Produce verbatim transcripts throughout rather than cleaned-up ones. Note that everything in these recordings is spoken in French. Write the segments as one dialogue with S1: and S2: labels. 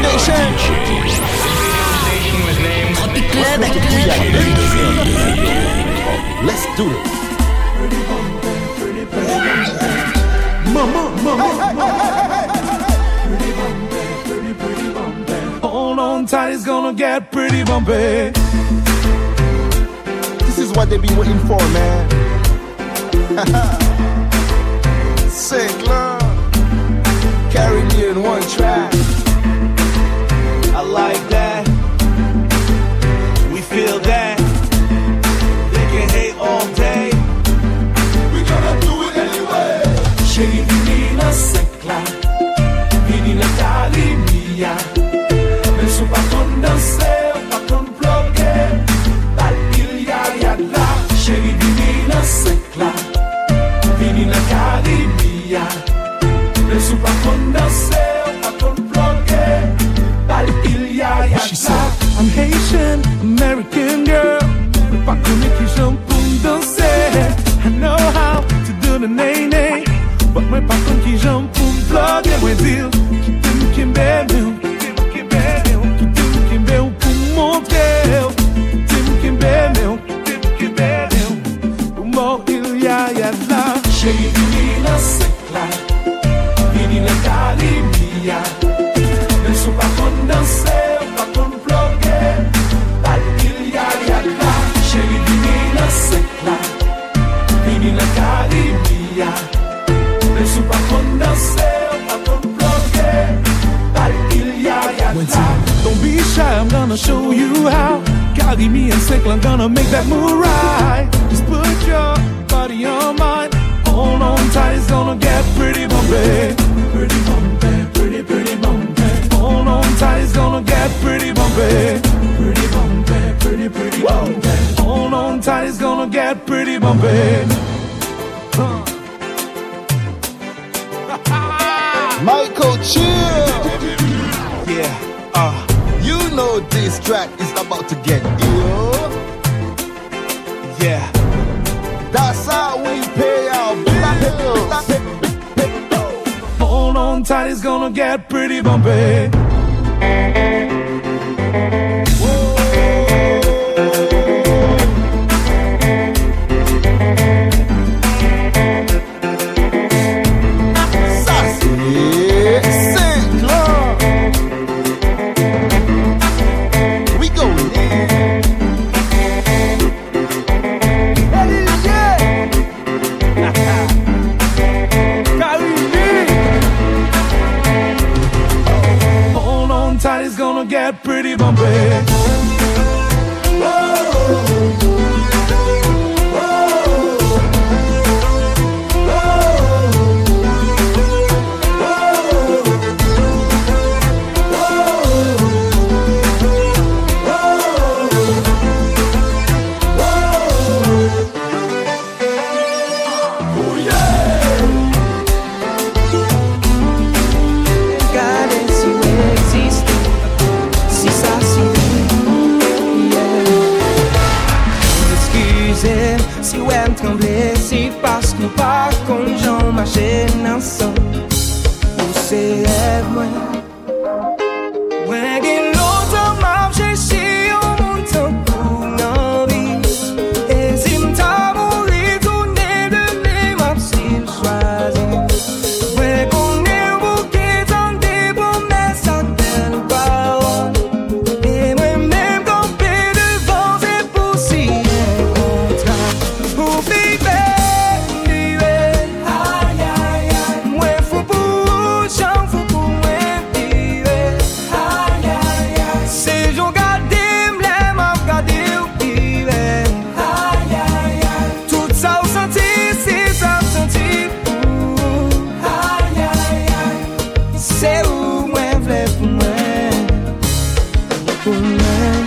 S1: Nation.
S2: Tropic Club.
S1: Let's do it. Mama, mama,
S3: hold on tight, it's gonna get pretty bumpy.
S1: This is what they be waiting for, man. Sick love, carry me in one track.
S3: I like that. We feel that. They can hate all day. We gonna do it anyway. Chérie, menina secla, menina carimia. Mais sou pas qu'on danser, pas qu'on bloquer. Bal il ya ya la. Chérie, menina secla, menina carimia. Mais sou pas qu'on danser, pas qu'on bloquer. Bal il ya ya la. She said, I'm Haitian, American girl. Pas qu'on est qui j'aime pour danser. I know how to do the nay-nay. But my patron qui j'aime pour me plugger, moi dire qui t'aime, qui m'aime, qui t'aime, qui m'aime, qui t'aime, qui m'aime pour montrer, qui t'aime, qui m'aime, qui t'aime, qui m'aime, pour moi il y a, y a là. Chérie, menina secla, menina carimia, mais sou pas qu'on danser, pas qu'on plugger, bal il y a, y a là. Chérie, menina secla, menina carimia. Mais sou pas qu'on danser, pas qu'on bloquer. Bal il y a, y a là. Don't be shy, I'm gonna show you how. Carry me and Sickle, I'm gonna make that move right. Just put your body on mine. Hold on tight, it's gonna get pretty bumpy. Pretty bumpy, pretty, pretty bumpy. Hold on tight, it's gonna get pretty bumpy. Pretty bumpy, pretty, pretty bumpy. Hold on tight, it's gonna get pretty bumpy. Huh.
S1: Michael Chill.
S3: Yeah, uh,
S1: You know this track is about to get ill.
S3: yeah.
S1: That's how we pay our bills.
S3: Hold on tight, it's gonna get pretty bumpy. It's gonna get pretty bumpy.
S4: Si ou em tremble, si parce nou pa kon jan mache nan san. Ou se ev mwen Mwen gen lontan marche si yon moun tan pou nan vi. E si mta mouri toune de ple map si l chwazi. Mwen konen bouke tan de promes ak bel parol. E mwen men kampe devan se pou si yon kontra. Ou baby, baby, ay ay ay. Mwen fou pou chan fou pou mwen vive. Ay ay ay. Se jon gade mlem ap gade ou vive. Ay ay ay. Tout sa ou senti, si sa ou senti pou. Ay ay ay. Se ou mwen vle pou mwen. Pou mwen.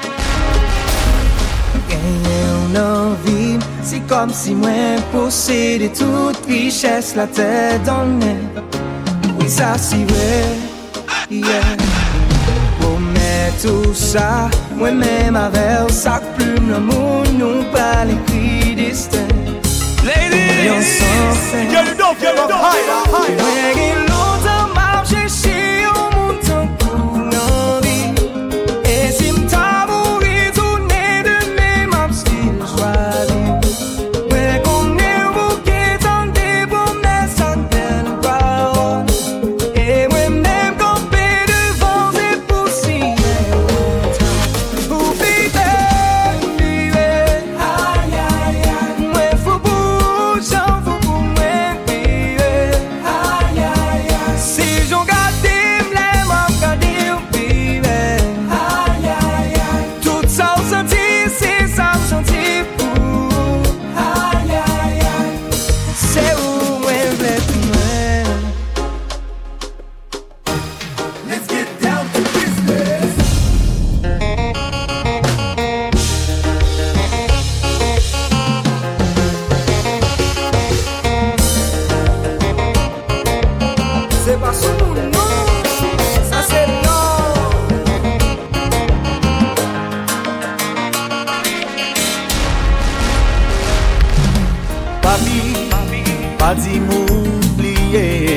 S4: Genye ou nan vi. Si comme si moi possédais toute richesse, la tête dans le nez. Oui, ça c'est vrai, yeah. Pour mettre tout ça, moi-même avec ça plume l'amour, nous pas l'écrit destin.
S3: Ladies,
S4: on s'en fait.
S3: get it up, get it up, higher, higher.
S4: When you longtemps marché chez un monde pour moun non, ça c'est non.
S3: Papi, pas dit m'oublier.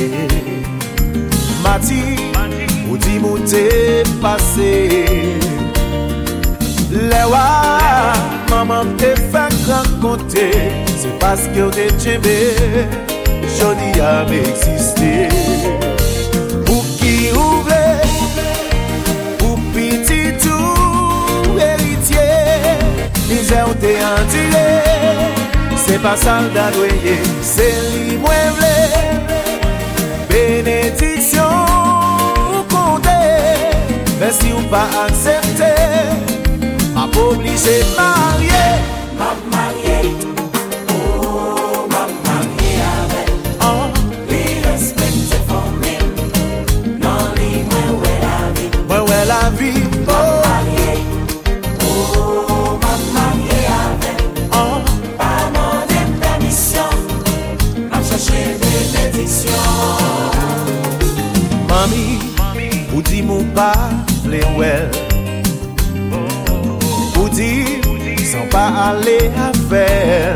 S3: Mati, ou dit m'ou t'es passé. Les wa, maman te fait rencontrer. C'est parce que t'es aimé, jodi a existé. Pour qui ouvre, pour petit tout héritier, misère ou t'es enduré. C'est pas soldat doyer, c'est li mwen vle. Bénédiction ou compte, mais si ou pas accepté, m'a pas obligé marier.
S2: M'a marié, oh, m'a marié avec.
S3: Oh,
S2: Li respecte famille, non li mwen wè la vie.
S3: ouais ouais la vie.
S2: M'a
S3: Oh,
S2: marié, oh, m'a marié avec.
S3: oh,
S2: Pas demandé permission, m'a cherché bénédiction.
S3: mami, ou di mou pas vle well. Ou di sans pas aller à faire.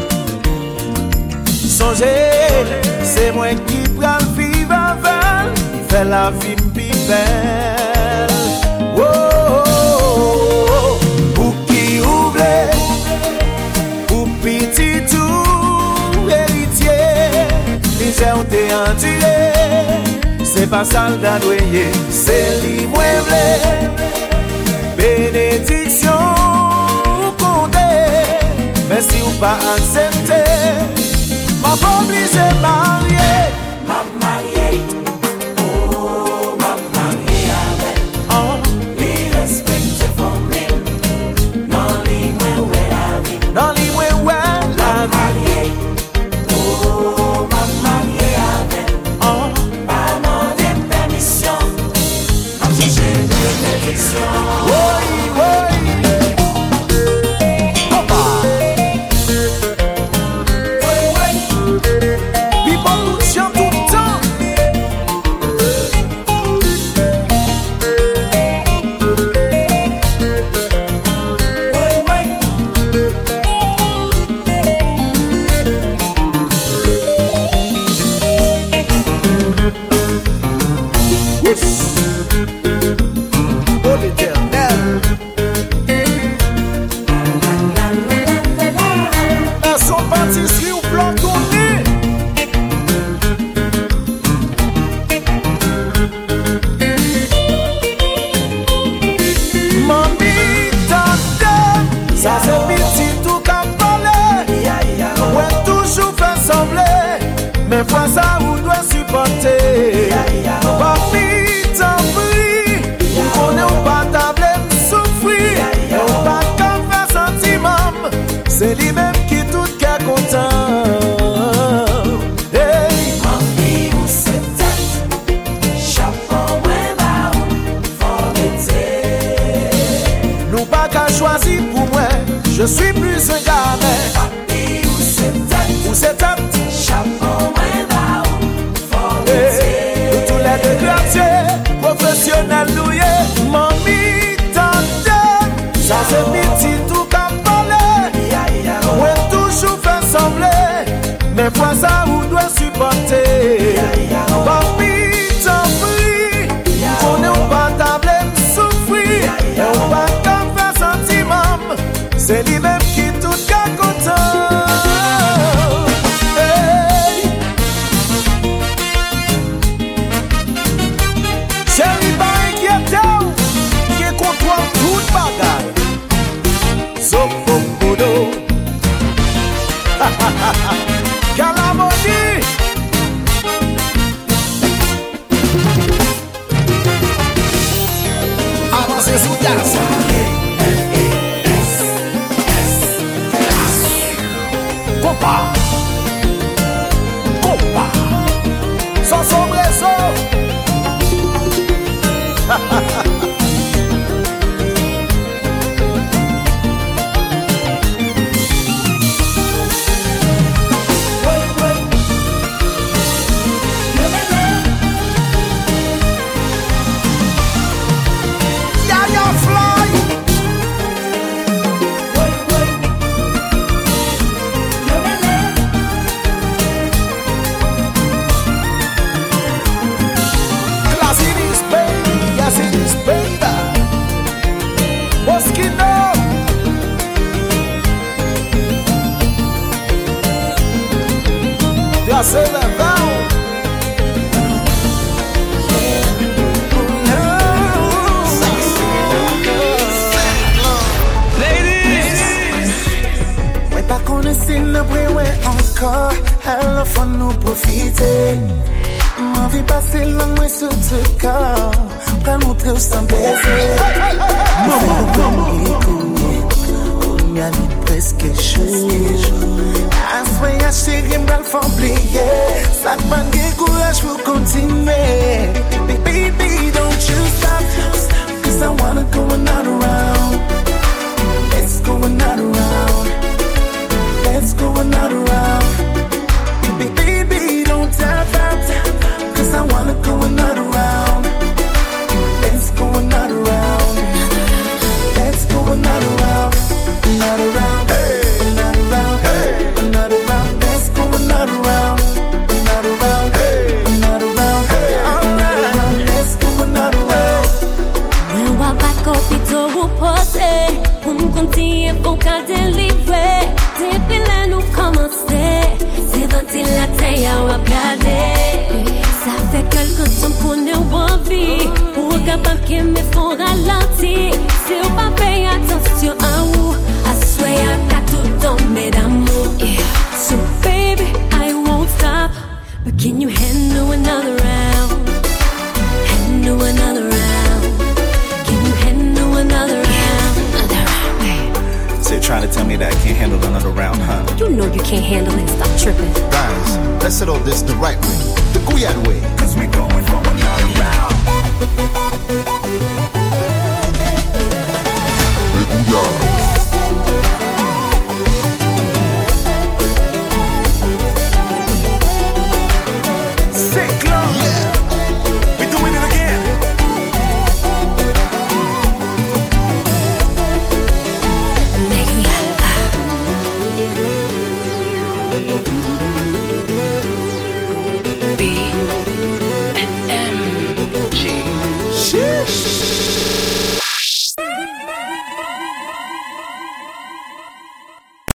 S3: Songez, c'est moi qui pral vivre avec, fait la vie plus belle. Oh, oh, oh, pour qui ouvre, pour petit tout héritier, misère ou t'es enduré. C'est pas soldat doyer, c'est li mwen vle. Bénédiction ou compte, mais si ou pas accepté, m'a pas obligé marier.
S2: M'a marié, oh, m'a marié avec.
S3: Oh,
S2: Li respecte famille, non li mwen wè la vie.
S3: dans les ouais ouais la vie.
S2: Marié, oh, m'a marié avec.
S3: Oh,
S2: Pas demandé permission, m'a cherché bénédiction.
S3: oui, oui. Opa. People tout chant tout le temps. Oh l'Éternel. Elles sont pâtisseries ou blanc tourné. Mami tante, ça c'est petit tout qu'à parler. Ouais toujours fait sembler, mais fois ça vous doit supporter. Papi t'en prie, on est au pas table souffrir. Et on pas qu'en faire sentiment, c'est lui-même qui tout qu'à content. Hey,
S2: Mami ou se tête, chapeau mwen ba ou, faut mette.
S3: nous pas qu'à choisir pour moi, je suis plus un gamin.
S2: Papi ou se tête,
S3: Ou c'est un petit
S2: chapeau mwen ba ou, faut
S3: hey, nous tous les
S2: mette.
S3: deux quartiers, professionnels nous y est. Mami tante, ça c'est petit tout qu'à parler. Ouais toujours fait sembler, mais fois ça vous doit supporter. Papi t'en prie, on est au pas table souffrir. Et on pas qu'en faire sentiment, c'est lui-même qui tout qu'à content. Hey. Chérie pas inquiété, qui contrôle toute bagaille.
S5: Envie passer la nuit sur ce corps, pas montrer où sans baiser. Maman, maman, on y a mis presque chaud. Assoyez à chérie, m'bral faut oublier. Ça te manque de courage pour continuer. Baby, don't you stop, cause I wanna go another round. Let's go another round. Let's go another round. Baby, don't tap out, cause I wanna go another round. Let's go another round. Let's go another round. Another round. Hey. Another round. Hey. Another round. Let's go another round. Another round. Hey. Another round. Hey. Alright. Let's go another round.
S6: When I back up, it's all posé. Um continue pour qu'à délivrer. Depuis là, nous commencer. C'est ventilateur à regarder. Ça fait quelque temps qu'on est en vie. Pour capable que me font ralentir. Si on pas payer attention à où, I swear I got to tomber d'amour. Yeah. So baby, I won't stop. But can you handle another round? Handle another round. Can you handle another round? Another round. Hey.
S3: So you're trying to tell me that I can't handle another round, huh?
S6: You know you can't handle it. Stop tripping.
S1: Guys, let's settle this the right way, the Guyad way.
S5: Cause we going for another round.